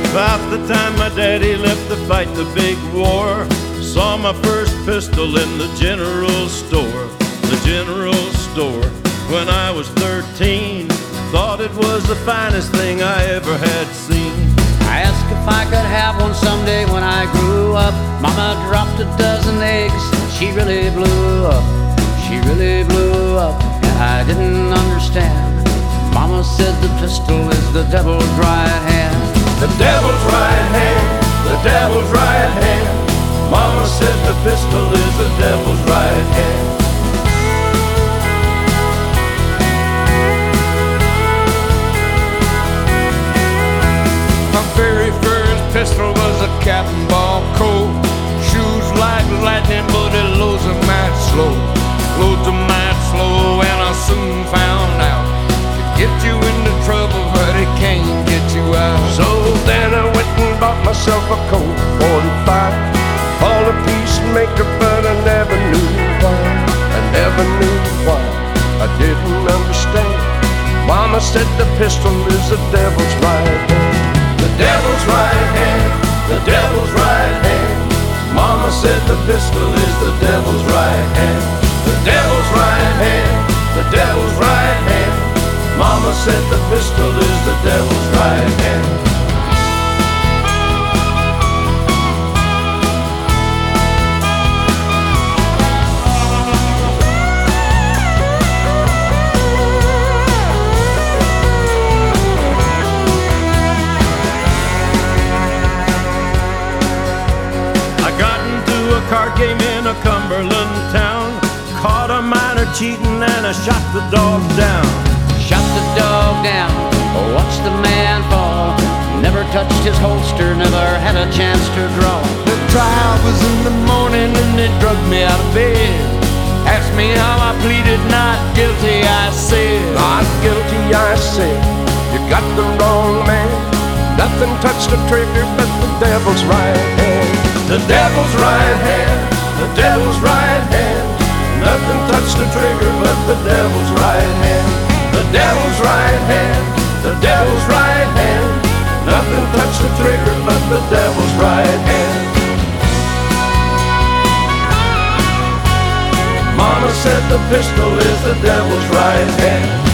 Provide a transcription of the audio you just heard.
About the time my daddy left to fight the big war, saw my first pistol in the general store. The general store. When I was 13, thought it was the finest thing I ever had seen. I asked if I could have one someday when I grew up. Mama dropped a dozen eggs, she really blew up. She really blew up, and I didn't understand. Mama said the pistol is the devil's right hand. The devil's right hand, the devil's right hand. Mama said the pistol is the devil's right hand. My very first pistol was a Captain Ball Colt. Shoots like lightning, but it loads a mite slow. Loads a mite slow, and I soon found out it get you into trouble, but it can't get you out. So then I went and bought myself a Colt 45, all a peacemaker, but I never knew why. I never knew why. I didn't understand. Mama said the pistol is the devil's right hand. The devil's right hand, the devil's right hand. Mama said the pistol is the devil's right hand. The devil's right hand, the devil's right hand. Mama said the pistol is the devil's right hand. Card game in a Cumberland town, caught a miner cheating and I shot the dog down. Shot the dog down, watched the man fall. Never touched his holster, never had a chance to draw. The trial was in the morning and they drugged me out of bed. Asked me how I pleaded not guilty, I said. Not guilty, I said. You got the wrong man. Nothing touched the trigger but the devil's right hand. The devil's right hand, the devil's right hand. Nothing touched the trigger but the devil's right hand. The devil's right hand, the devil's right hand. Nothing touched the trigger but the devil's right hand. Mama said the pistol is the devil's right hand.